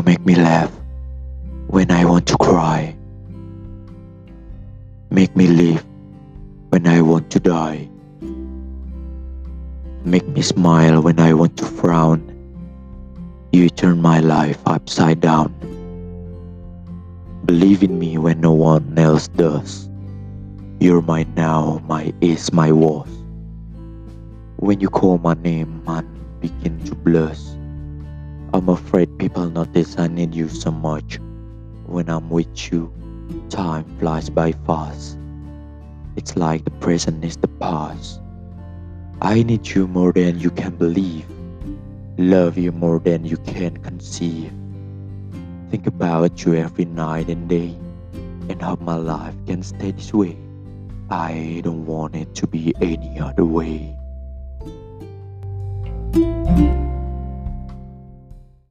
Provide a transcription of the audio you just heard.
make me laugh when I want to cry. Make me live when I want to die. Make me smile when I want to frown. You turn my life upside down. Believe in me when no one else does. You're my now, my is, my was. When you call my name, man begin to blush. I'm afraid people notice I need you so much. When I'm with you, time flies by fast. It's like the present is the past. I need you more than you can believe. Love you more than you can conceive. Think about you every night and day, and how my life can stay this way. I don't want it to be any other way.